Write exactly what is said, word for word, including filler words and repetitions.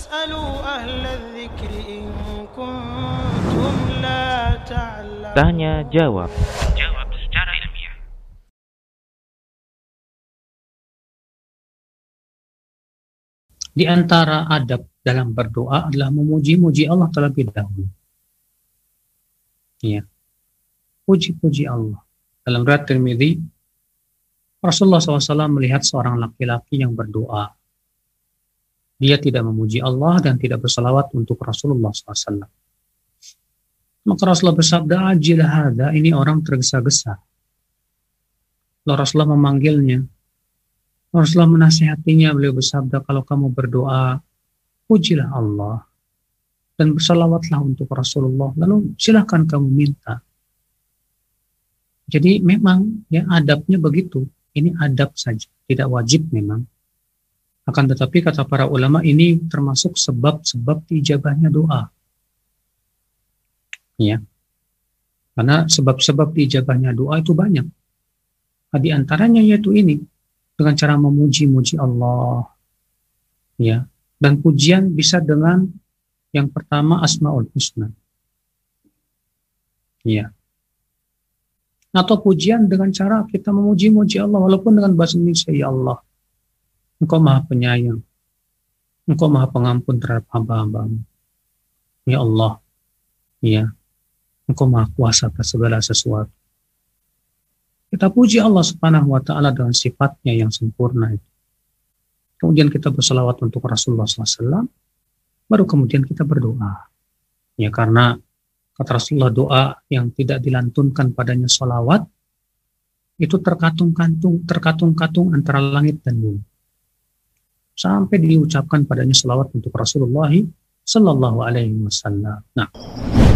فاسألوا أهل الذكر إن كنتم لا تعلمون. Tanya jawab. Jawab secara ilmiah. Di antara adab dalam berdoa adalah memuji-muji Allah terlebih dahulu. Ya, puji-puji Allah. Dalam riwayat Tirmidzi, Rasulullah shallallahu alaihi wasallam melihat seorang laki-laki yang berdoa. Dia tidak memuji Allah dan tidak bersalawat untuk Rasulullah shallallahu alaihi wasallam. Maka Rasulullah bersabda, "Ajil hadza," ini orang tergesa-gesa. Lalu Rasulullah memanggilnya. Rasulullah menasihatinya, beliau bersabda, "Kalau kamu berdoa, pujilah Allah dan bersalawatlah untuk Rasulullah, lalu silahkan kamu minta." Jadi memang ya adabnya begitu. Ini adab saja, tidak wajib memang. Akan tetapi kata para ulama ini termasuk sebab-sebab diijabahnya doa. Ya. Karena sebab-sebab diijabahnya doa itu banyak. Nah, di antaranya yaitu ini, dengan cara memuji-muji Allah. Ya. Dan pujian bisa dengan yang pertama Asmaul Husna. Ya. Atau pujian dengan cara kita memuji-muji Allah walaupun dengan bahasa Indonesia, ya Allah, Engkau Maha Penyayang, Engkau Maha Pengampun terhadap hamba-hambamu. Ya Allah, ya, Engkau Maha Kuasa atas segala sesuatu. Kita puji Allah Subhanahu wa Ta'ala dengan sifatnya yang sempurna itu. Kemudian kita berselawat untuk Rasulullah shallallahu alaihi wasallam, baru kemudian kita berdoa. Ya, karena kata Rasulullah, doa yang tidak dilantunkan padanya sholawat itu terkatung-katung, terkatung-katung antara langit dan bumi. Sampai diucapkan padanya sholawat untuk Rasulullah Sallallahu Alaihi Wasallam. Nah,